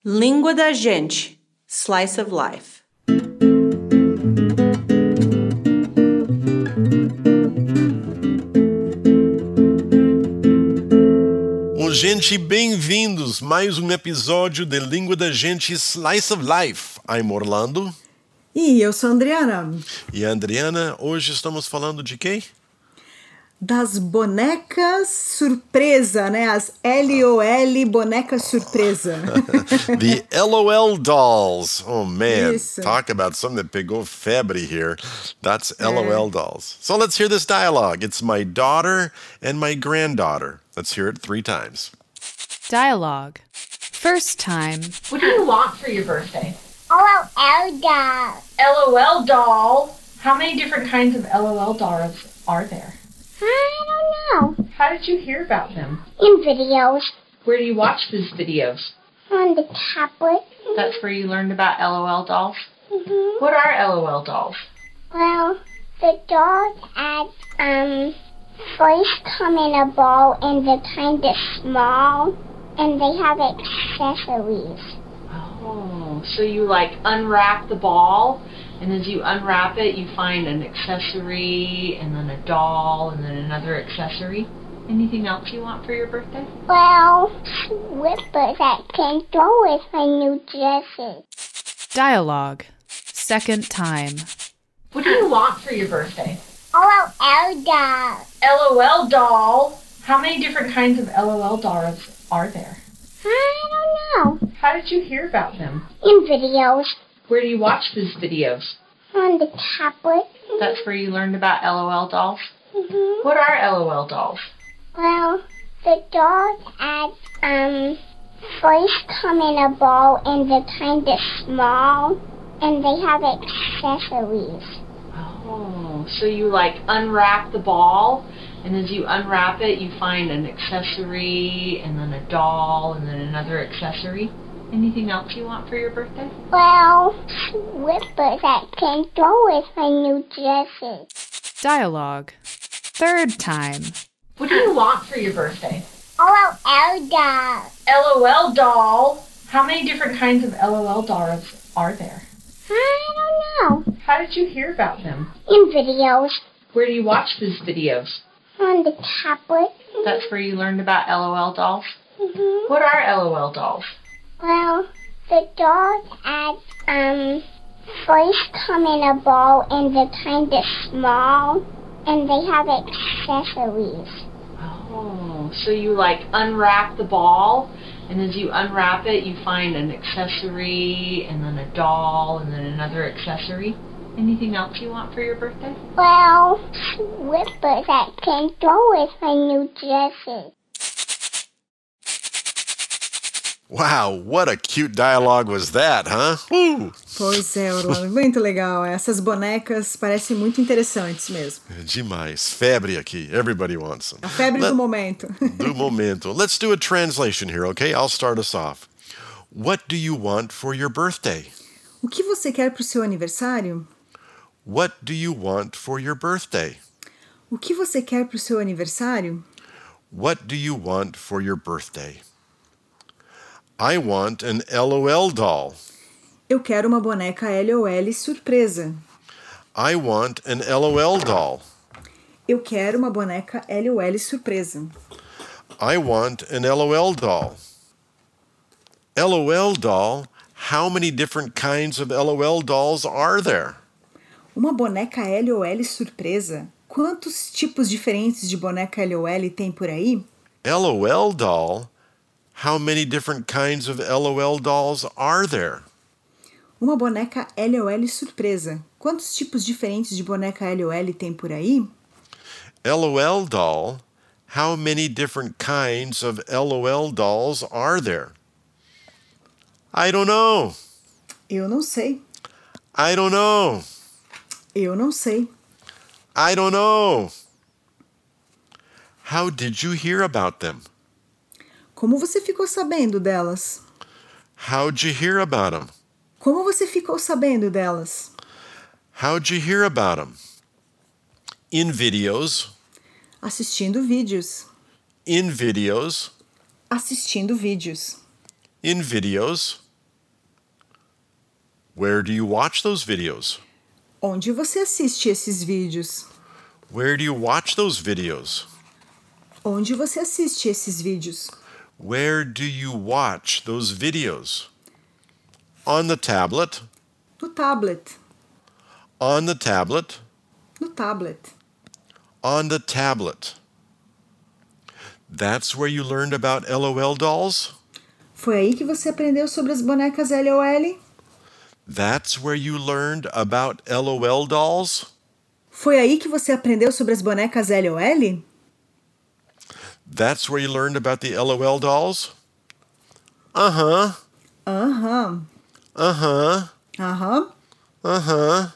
Língua da gente, Slice of Life. Bom, gente, bem-vindos! Mais um episódio de Língua da Gente Slice of Life. I'm Orlando. E eu sou a Adriana. E a Adriana, hoje estamos falando de quem? Das bonecas surpresa, né? As LOL bonecas surpresa. The LOL dolls. Oh, man. Isso. Talk about something that pegou febre here. That's LOL dolls. So let's hear this dialogue. It's my daughter and my granddaughter. Let's hear it 3 times. Dialogue. First time. What do you want for your birthday? LOL doll. LOL doll. How many different kinds of LOL dolls are there? I don't know. How did you hear about them? In videos. Where do you watch these videos? On the tablet. That's where you learned about LOL dolls? Mm-hmm. What are LOL dolls? Well, the dolls first come in a ball and they're kind of small and they have accessories. Oh, so you unwrap the ball, and as you unwrap it, you find an accessory, and then a doll, and then another accessory. Anything else you want for your birthday? Well, slippers that can go with my new dresses. Dialogue. Second time. What do you want for your birthday? LOL doll. LOL doll. How many different kinds of LOL dolls are there? I don't know. How did you hear about them? In videos. Where do you watch these videos? On the tablet. That's where you learned about LOL dolls? Mm-hmm. What are LOL dolls? Well, the dolls first come in a ball and they're kind of small and they have accessories. Oh, so you unwrap the ball, and as you unwrap it, you find an accessory, and then a doll, and then another accessory. Anything else you want for your birthday? Well, slippers that can go with my new dresses. Dialogue. Third time. What do you want for your birthday? LOL doll. LOL doll. How many different kinds of LOL dolls are there? I don't know. How did you hear about them? In videos. Where do you watch these videos? On the tablet. That's where you learned about LOL dolls? Mm-hmm. What are LOL dolls? Well, the dolls first come in a ball and they're kind of small and they have accessories. Oh, so you unwrap the ball, and as you unwrap it, you find an accessory, and then a doll, and then another accessory. Anything else you want for your birthday? Well, slippers that can go with my new dresses. Wow, what a cute dialogue was that, huh? Woo! Pois é, Orlando, muito legal. Essas bonecas parecem muito interessantes mesmo. Demais. Febre aqui. Everybody wants them. A febre do momento. Do momento. Let's do a translation here, okay? I'll start us off. What do you want for your birthday? O que você quer para o seu aniversário? What do you want for your birthday? O que você quer para o seu aniversário? What do you want for your birthday? I want an LOL doll. Eu quero uma boneca LOL surpresa. I want an LOL doll. Eu quero uma boneca LOL surpresa. I want an LOL doll. LOL doll? How many different kinds of LOL dolls are there? Uma boneca LOL surpresa? Quantos tipos diferentes de boneca LOL tem por aí? LOL doll? How many different kinds of LOL dolls are there? Uma boneca LOL surpresa. Quantos tipos diferentes de boneca LOL tem por aí? LOL doll? How many different kinds of LOL dolls are there? I don't know. Eu não sei. I don't know. Eu não sei. I don't know. How did you hear about them? Como você ficou sabendo delas? How'd you hear about them? Como você ficou sabendo delas? How'd you hear about them? In videos. Assistindo vídeos. In videos. Assistindo vídeos. In videos. Where do you watch those videos? Onde você assiste esses vídeos? Where do you watch those videos? Onde você assiste esses vídeos? Where do you watch those videos? On the tablet. No tablet. On the tablet. No tablet. On the tablet. That's where you learned about LOL dolls? Foi aí que você aprendeu sobre as bonecas LOL? That's where you learned about LOL dolls? Foi aí que você aprendeu sobre as bonecas LOL? That's where you learned about the LOL dolls? Uh-huh. Aham. Uh-huh. Aham. Uh-huh.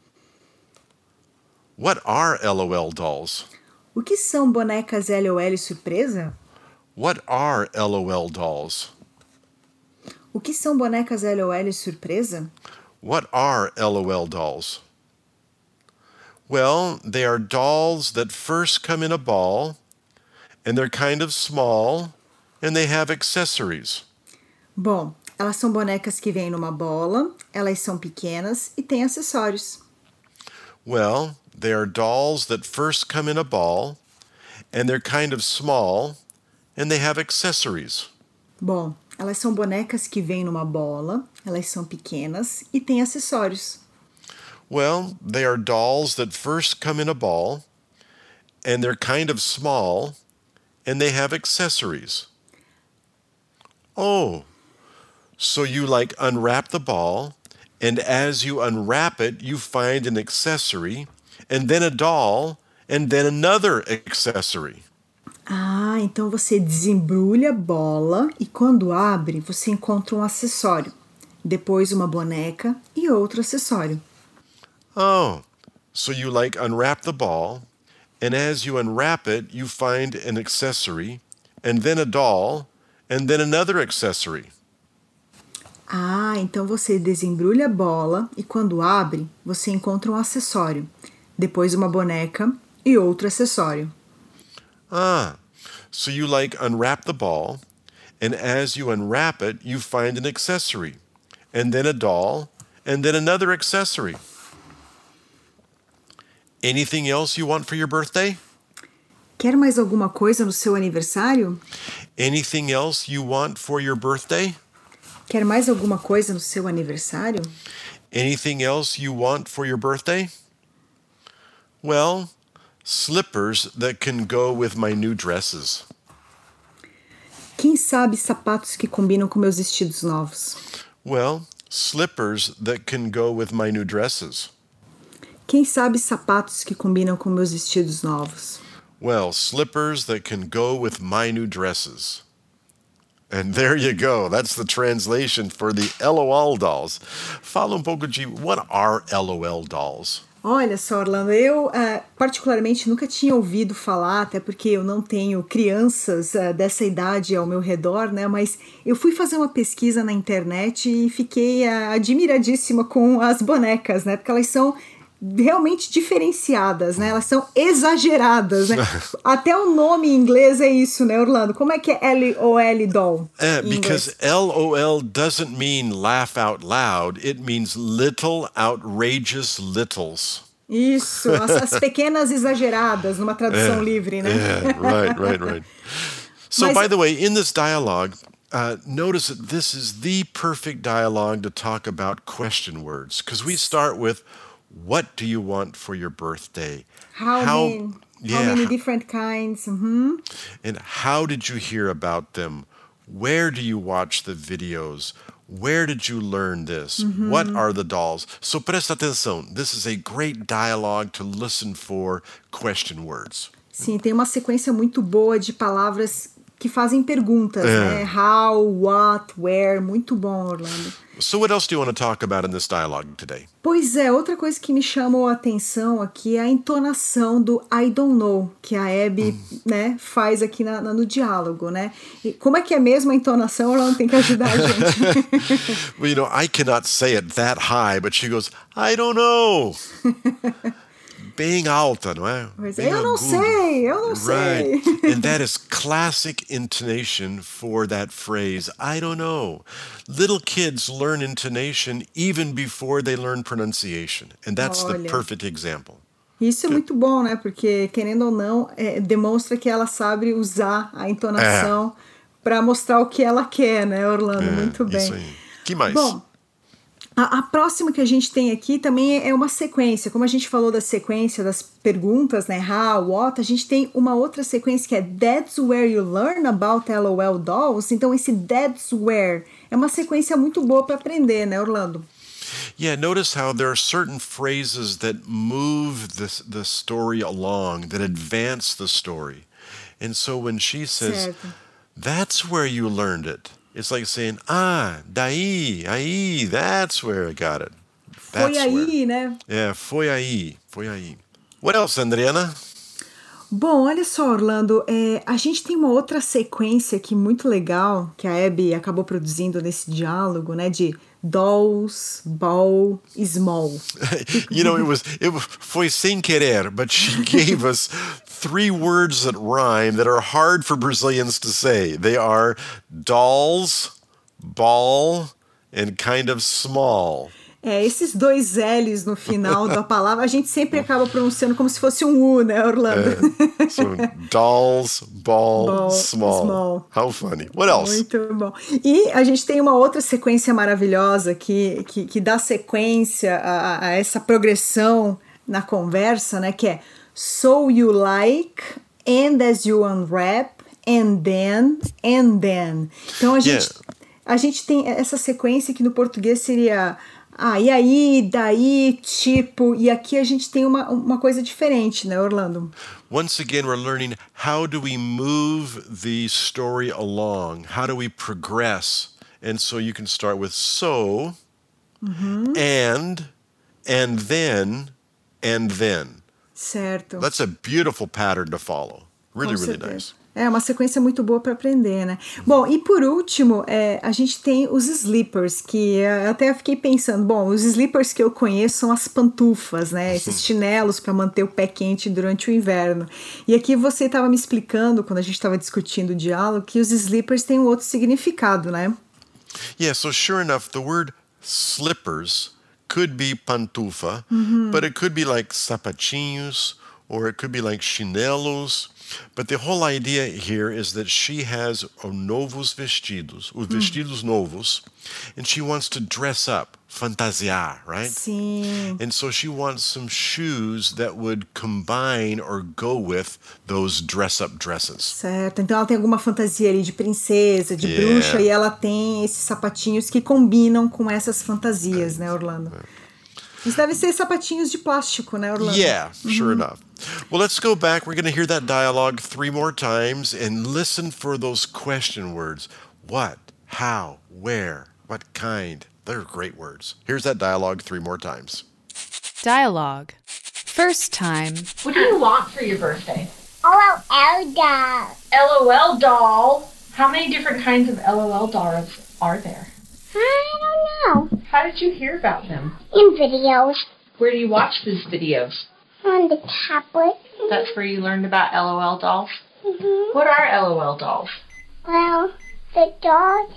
What are LOL dolls? O que são bonecas LOL surpresa? What are LOL dolls? O que são bonecas LOL surpresa? What are LOL dolls? Well, they are dolls that first come in a ball, and they're kind of small, and they have accessories. Bom, elas são bonecas que vêm numa bola, elas são pequenas e têm acessórios. Well, they are dolls that first come in a ball, and they're kind of small, and they have accessories. Bom, elas são bonecas que vêm numa bola, elas são pequenas e têm acessórios. Well, they are dolls that first come in a ball, and they're kind of small, and they have accessories. Oh, so you like unwrap the ball, and as you unwrap it, you find an accessory, and then a doll, and then another accessory. Ah, então você desembrulha a bola e quando abre, você encontra um acessório. Depois uma boneca e outro acessório. Oh, so you like unwrap the ball, and as you unwrap it, you find an accessory, and then a doll, and then another accessory. Ah, então você desembrulha a bola e quando abre, você encontra um acessório. Depois uma boneca e outro acessório. Ah, so you like unwrap the ball, and as you unwrap it, you find an accessory, and then a doll, and then another accessory. Anything else you want for your birthday? Quer mais alguma coisa no seu aniversário? Anything else you want for your birthday? Quer mais alguma coisa no seu aniversário? Anything else you want for your birthday? Well, slippers that can go with my new dresses. Quem sabe sapatos que combinam com meus vestidos novos? Well, slippers that can go with my new dresses. Quem sabe sapatos que combinam com meus vestidos novos? Well, slippers that can go with my new dresses. And there you go. That's the translation for the LOL dolls. Fala um pouco de what are LOL dolls? Olha só, Orlando, eu particularmente nunca tinha ouvido falar, até porque eu não tenho crianças dessa idade ao meu redor, né? Mas eu fui fazer uma pesquisa na internet e fiquei admiradíssima com as bonecas, né? Porque elas são realmente diferenciadas, né? Elas são exageradas, né? Até o nome em inglês é isso, né, Orlando? Como é que é LOL doll? Because LOL doesn't mean laugh out loud. It means little outrageous littles. Isso, as pequenas exageradas, numa tradução livre, né? Yeah, right. So, by the way, in this dialogue, notice that this is the perfect dialogue to talk about question words, because we start with, what do you want for your birthday? How many different kinds? Mm-hmm. And how did you hear about them? Where do you watch the videos? Where did you learn this? Mm-hmm. What are the dolls? So presta atenção. This is a great dialogue to listen for question words. Sim, tem uma sequência muito boa de palavras que fazem perguntas, né? How, what, where. Muito bom, Orlando. So what else do you want to talk about in this dialogue today? Pois é, outra coisa que me chamou a atenção aqui é a entonação do I don't know, que a Abby né, faz aqui no diálogo, né? E como é que é mesmo a entonação? Ela não tem que ajudar a gente. Well, you know, I cannot say it that high, but she goes, I don't know. bem alta, não é? Pois é, Bem eu não agudo. sei, eu não sei. Right. And that is classic intonation for that phrase, I don't know. Little kids learn intonation even before they learn pronunciation. And that's the Olha. perfect example. Isso é muito bom, né? Porque, querendo ou não, demonstra que ela sabe usar a entonação para mostrar o que ela quer, né, Orlando? Muito bem. Isso aí. Que mais? Bom, a próxima que a gente tem aqui também é uma sequência. Como a gente falou da sequência das perguntas, né? How, what, a gente tem uma outra sequência que é That's where you learn about LOL dolls. Então, esse That's where é uma sequência muito boa para aprender, né, Orlando? Yeah, notice how there are certain phrases that move the story along, that advance the story. And so when she says, Certo. that's where you learned it, it's like saying, daí, aí, that's where I got it. Foi That's aí, where. né? Yeah, foi aí. What else, Adriana? Bom, olha só, Orlando, a gente tem uma outra sequência aqui muito legal que a Abby acabou produzindo nesse diálogo, né, de dolls, ball, small. You know, foi sem querer, but she gave us 3 words that rhyme that are hard for Brazilians to say. They are dolls, ball, and kind of small. Esses 2 L's no final da palavra, a gente sempre acaba pronunciando como se fosse um U, né, Orlando? So dolls, ball, small. small. How funny. What else? Muito bom. E a gente tem uma outra sequência maravilhosa que dá sequência a essa progressão na conversa, né? Que é So you like, and as you unwrap, and then. Então a gente tem essa sequência que no português seria... e aí, daí, tipo... E aqui a gente tem uma coisa diferente, né, Orlando? Once again, we're learning how do we move the story along? How do we progress? And so you can start with so, and then. Certo. That's a beautiful pattern to follow. Really, Com really certeza. nice. É uma sequência muito boa para aprender, né? Bom, e por último, a gente tem os slippers, que eu até fiquei pensando, bom, os slippers que eu conheço são as pantufas, né? Esses chinelos para manter o pé quente durante o inverno. E aqui você estava me explicando, quando a gente estava discutindo o diálogo, que os slippers têm um outro significado, né? Yeah, so sure enough, the word slippers could be pantufa, but it could be like sapatinhos, or it could be like chinelos. But the whole idea here is that she has novos vestidos, os vestidos novos, and she wants to dress up, fantasiar, right? Sim. And so she wants some shoes that would combine or go with those dress-up dresses. Certo, então ela tem alguma fantasia ali de princesa, de bruxa, e ela tem esses sapatinhos que combinam com essas fantasias, né, Orlando? Isso deve ser sapatinhos de plástico, né, Orlando? Yeah, sure enough. Well, let's go back. We're going to hear that dialogue 3 more times and listen for those question words. What, how, where, what kind. They're great words. Here's that dialogue 3 more times. Dialogue. First time. What do you want for your birthday? LOL doll. LOL doll. How many different kinds of LOL dolls are there? I don't know. How did you hear about them? In videos. Where do you watch these videos? On the tablet. That's where you learned about LOL dolls? Mm-hmm. What are LOL dolls? Well, the dolls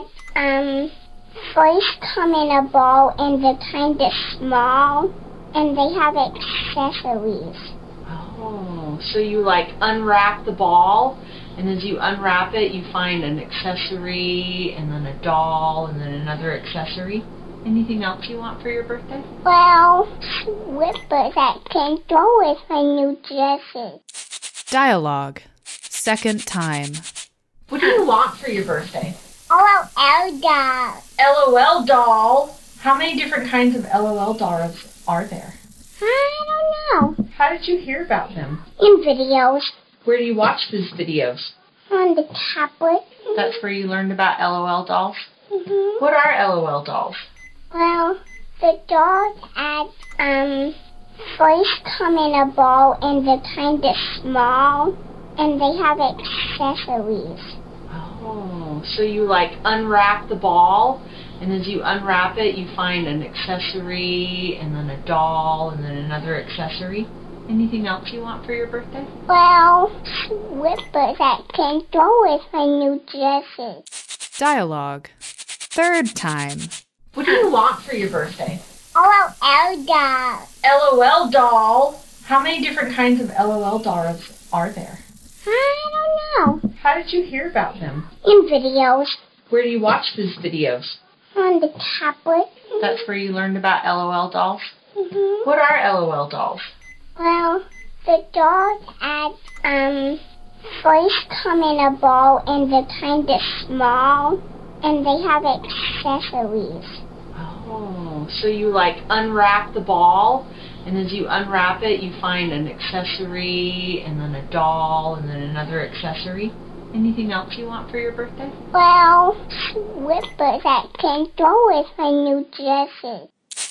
first come in a ball and they're kind of small and they have accessories. Oh, so you like unwrap the ball, and as you unwrap it, you find an accessory, and then a doll, and then another accessory. Anything else you want for your birthday? Well, slippers that can go with my new dresses. Dialogue. Second time. What do you want for your birthday? LOL doll. LOL doll. How many different kinds of LOL dolls are there? I don't know. How did you hear about them? In videos. Where do you watch these videos? On the tablet. That's where you learned about LOL dolls? Mm-hmm. What are LOL dolls? Well, the dolls first come in a ball and they're kind of small and they have accessories. Oh, so you like unwrap the ball, and as you unwrap it, you find an accessory, and then a doll, and then another accessory. Anything else you want for your birthday? Well, slippers that can go with my new dresses. Dialogue. Third time. What do you want for your birthday? Oh, Elda. LOL doll. How many different kinds of LOL dolls are there? I don't know. How did you hear about them? In videos. Where do you watch these videos? On the tablet. That's where you learned about LOL dolls? Mm-hmm. What are LOL dolls? Well, the dolls first come in a ball and they're kind of small and they have accessories. Oh, so you like unwrap the ball, and as you unwrap it, you find an accessory, and then a doll, and then another accessory. Anything else you want for your birthday? Well, slippers that can go with my new dresses.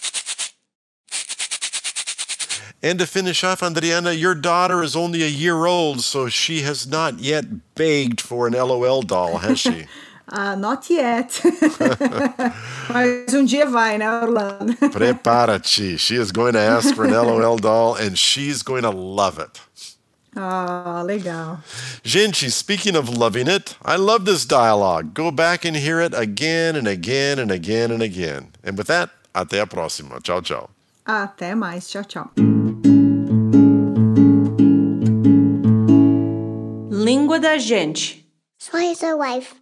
And to finish off, Adriana, your daughter is only a year old, so she has not yet begged for an LOL doll, has she? Not yet. Mas dia vai, né, Orlando? Prepara-te. She is going to ask for an LOL doll, and she's going to love it. Legal. Gente, speaking of loving it, I love this dialogue. Go back and hear it again and again and again and again. And with that, até a próxima. Tchau, tchau. Até mais. Tchau, tchau. Língua da gente. Slice of life.